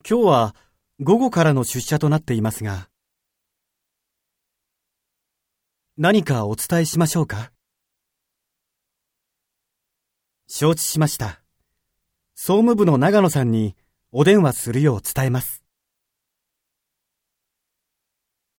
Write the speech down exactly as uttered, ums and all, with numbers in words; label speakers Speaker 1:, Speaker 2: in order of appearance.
Speaker 1: 今日は午後からの出社となっていますが、何かお伝えしましょうか？承知しました。総務部の長野さんにお電話するよう伝えます。